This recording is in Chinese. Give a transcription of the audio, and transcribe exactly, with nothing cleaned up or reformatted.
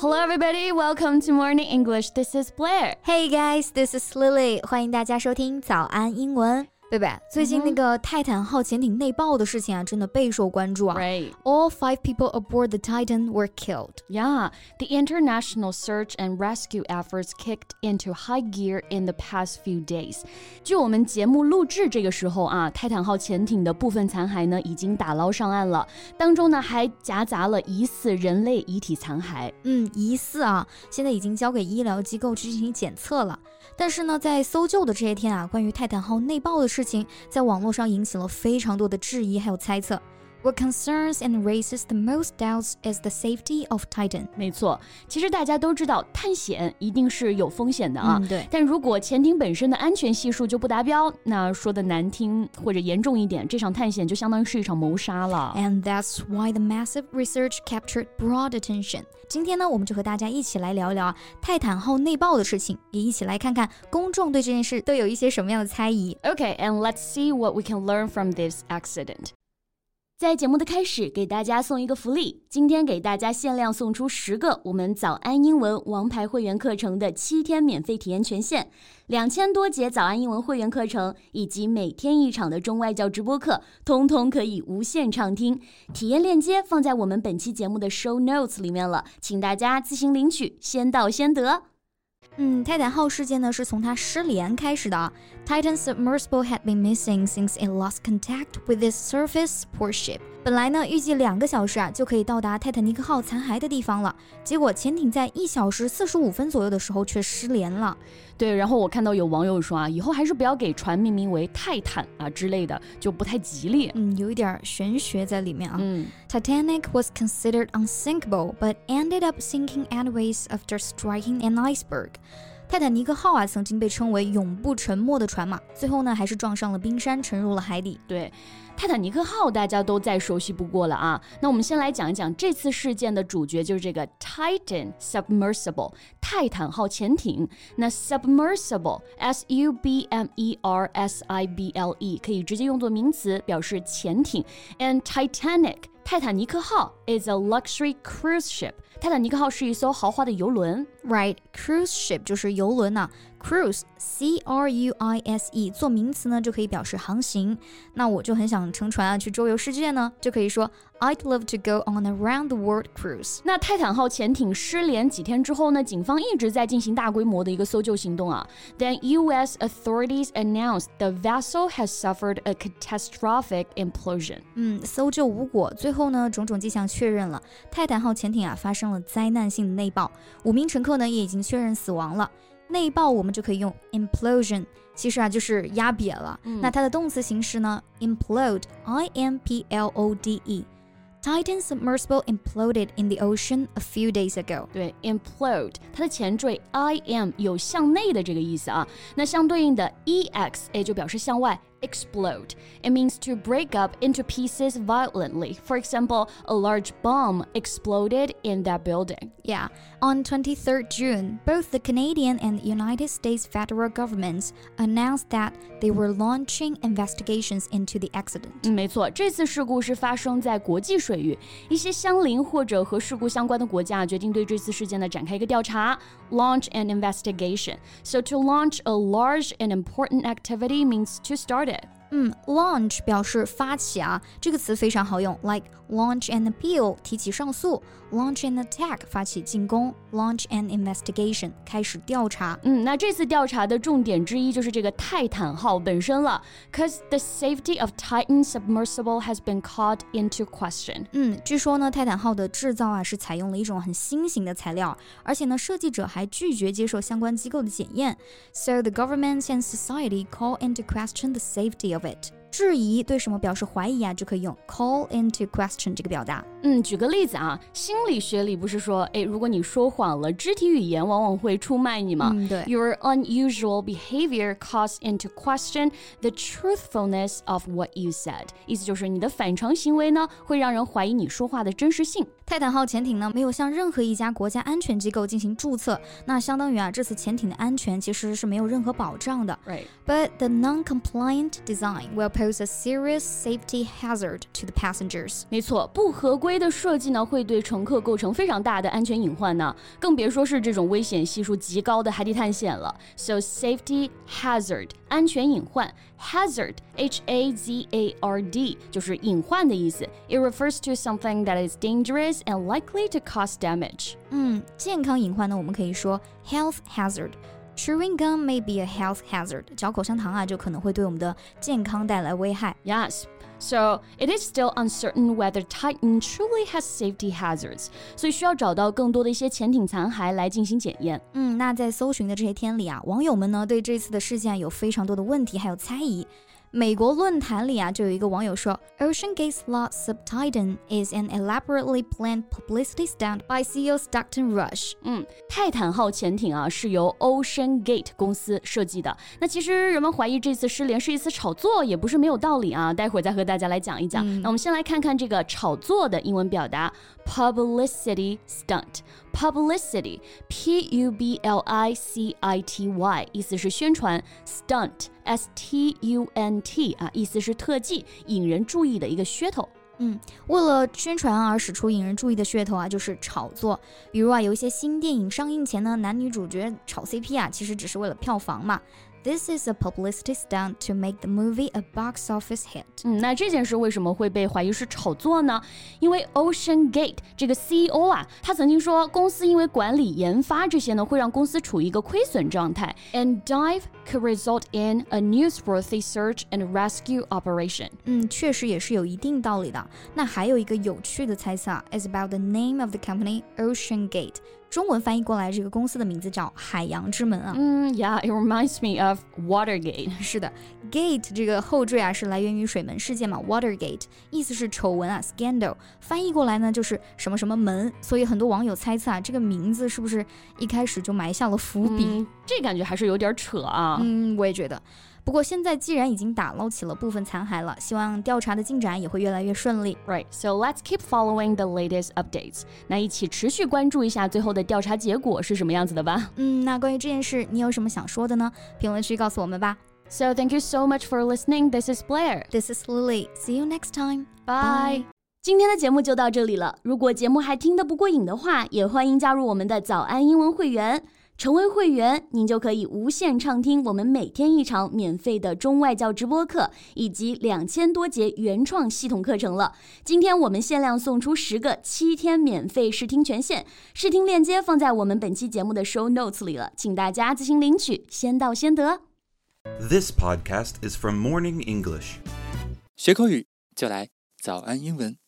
Hello everybody, welcome to Morning English. This is Blair. Hey guys, this is Lily. 欢迎大家收听早安英文。贝贝，最近那个泰坦号潜艇内爆的事情啊，真的备受关注啊。 Right. All five people aboard the Titan were killed. Yeah, the international search and rescue efforts kicked into high gear in the past few days. 就我们节目录制这个时候啊，泰坦号潜艇的部分残骸呢已经打捞上岸了，当中呢还夹杂了疑似人类遗体残骸。 嗯，疑似啊，现在已经交给医疗机构去进行检测了。但是呢，在搜救的这些天啊，关于泰坦号内爆的事情，在网络上引起了非常多的质疑还有猜测。What concerns and raises the most doubts is the safety of Titan. 没错，其实大家都知道探险一定是有风险的啊。 嗯，对。 但如果潜艇本身的安全系数就不达标，那说的难听或者严重一点，这场探险就相当于是一场谋杀了。 And that's why the massive research captured broad attention. 今天呢，我们就和大家一起来聊一聊泰坦号内爆的事情，也一起来看看公众对这件事都有一些什么样的猜疑。 Okay, and let's see what we can learn from this accident. 在节目的开始，给大家送一个福利，今天给大家限量送出十个我们早安英文王牌会员课程的七天免费体验权限，两千多节早安英文会员课程以及每天一场的中外教直播课，通通可以无限畅听。体验链接放在我们本期节目的 show notes 里面了，请大家自行领取，先到先得。 嗯，泰坦号事件呢是从它失联开始的啊。Titan submersible had been missing since it lost contact with its surface support ship. 本来呢，预计两个小时啊就可以到达泰坦尼克号残骸的地方了，结果潜艇在一小时四十五分左右的时候却失联了。 对，然后我看到有网友说啊，以后还是不要给船命名为泰坦啊之类的，就不太吉利。 嗯，有一点玄学在里面啊。 嗯 Titanic was considered unsinkable, but ended up sinking anyways after striking an iceberg. 泰坦尼克号啊，曾经被称为永不沉没的船嘛，最后呢，还是撞上了冰山，沉入了海底。 对，泰坦尼克号大家都再熟悉不过了啊。那我们先来讲一讲这次事件的主角，就是这个 Titan Submersible 泰坦号潜艇。那 Submersible S U B M E R S I B L E 可以直接用作名词，表示潜艇。And Titanic泰坦尼克号 is a luxury cruise ship. 泰坦尼克号是一艘豪华的游轮。 Right, cruise ship 就是游轮呐、啊。Cruise, C R U I S E 做名词呢就可以表示航行。那我就很想乘船啊去周游世界呢，就可以说 I'd love to go on a round the world cruise. 那泰坦号潜艇失联几天之后呢，警方一直在进行大规模的一个搜救行动啊。Then U S authorities announced the vessel has suffered a catastrophic implosion. 嗯，搜救无果，最后呢，种种迹象确认了泰坦号潜艇啊发生了灾难性的内爆，五名乘客呢也已经确认死亡了。内爆我们就可以用 implosion， 其实啊就是压瘪了。嗯、那它的动词形式呢 implode, I M P L O D E。Titan submersible imploded in the ocean a few days ago. 对 implode 它的前缀 I M 有向内的这个意思啊，那相对应的 E X 也就表示向外。Explode. It means to break up into pieces violently. For example, a large bomb exploded in that building. Yeah. On twenty-third June, both the Canadian and United States federal governments announced that they were launching investigations into the accident. 嗯，没错，这次事故是发生在国际水域，一些相邻或者和事故相关的国家决定对这次事件呢展开一个调查 ，launch an investigation. So to launch a large and important activity means to start it. 嗯 launch 表示发起啊，这个词非常好用 like launch an appeal 提起上诉， launch an attack 发起进攻， launch an investigation 开始调查。 嗯，那这次调查的重点之一就是这个泰坦号本身了 ，cause the safety of Titan submersible has been called into question. 嗯，据说呢，泰坦号的制造啊是采用了一种很新型的材料，而且呢，设计者还拒绝接受相关机构的检验。So the government and society call into question the safety of it. 质疑对什么表示怀疑啊，就可以用 call into question 这个表达。 嗯，举个例子啊，心理学里不是说，哎，如果你说谎了，肢体语言往往会出卖你吗？ 嗯，对。 Your unusual behavior calls into question the truthfulness of what you said. 意思就是你的反常行为呢，会让人怀疑你说话的真实性。 泰坦号潜艇呢，没有向任何一家国家安全机构进行注册，那相当于啊，这次潜艇的安全其实是没有任何保障的。 Right. But the non-compliant design will pose a serious safety hazard to the passengers. 没错，不合规的设计呢，会对乘客构成非常大的安全隐患呢，更别说是这种危险系数极高的海底探险了。So safety hazard 安全隐患 hazard H A Z A R D 就是隐患的意思。It refers to something that is dangerous and likely to cause damage. 嗯，健康隐患呢，我们可以说 health hazard。Chewing gum may be a health hazard. 嚼口香糖啊，就可能会对我们的健康带来危害。 Yes. So it is still uncertain whether Titan truly has safety hazards. 所以需要找到更多的一些潜艇残骸来进行检验。 嗯，那在搜寻的这些天里啊，网友们呢对这次的事件有非常多的问题还有猜疑。美国论坛里啊，就有一个网友说 OceanGate's lost sub-Titan is an elaborately planned publicity stunt by C E O Stockton Rush. 嗯，泰坦号潜艇啊是由 OceanGate 公司设计的。那其实人们怀疑这次失联是一次炒作，也不是没有道理啊。待会儿再和大家来讲一讲。嗯、那我们先来看看这个炒作的英文表达 publicity stunt。Publicity, P U B L I C I T Y 意思是宣传 stunt, S T U N T 啊，意思是特技，引人注意的一个噱头。 嗯，为了宣传而使出引人注意的噱头啊，就是炒作。比如啊，有一些新电影上映前呢，男女主角炒 C P 啊，其实只是为了票房嘛。This is a publicity stunt to make the movie a box office hit. 嗯，那这件事为什么会被怀疑是炒作呢？因为 OceanGate 这个 C E O 啊，他曾经说，公司因为管理、研发这些呢，会让公司处于一个亏损状态 ，and dive could result in a newsworthy search and rescue operation. 嗯，确实也是有一定道理的。那还有一个有趣的猜测啊 ，is about the name of the company OceanGate. 中文翻译过来，这个公司的名字叫海洋之门啊。 嗯 ，Yeah, it reminds me of Watergate. 是的 ，Gate 这个后缀啊是来源于水门事件嘛 ，Watergate 意思是丑闻啊 ，scandal 翻译过来呢就是什么什么门，所以很多网友猜测啊，这个名字是不是一开始就埋下了伏笔？ 嗯、这感觉还是有点扯啊。 嗯，我也觉得。不过现在既然已经打捞起了部分残骸了，希望调查的进展也会越来越顺利。 Right, so let's keep following the latest updates. 那一起持续关注一下最后的调查结果是什么样子的吧。 嗯，那关于这件事，你有什么想说的呢？评论区告诉我们吧。 So thank you so much for listening. This is Blair. This is Lily. See you next time. Bye. 今天的节目就到这里了。如果节目还听得不过瘾的话，也欢迎加入我们的早安英文会员。成为会员，您就可以无限畅听我们每天一场免费的中外教直播课，以及两千多节原创系统课程了。今天我们限量送出十个七天免费试听权限，试听链接放在我们本期节目的 show notes 里了，请大家自行领取，先到先得。 This podcast is from Morning English. 学口语就来早安英文。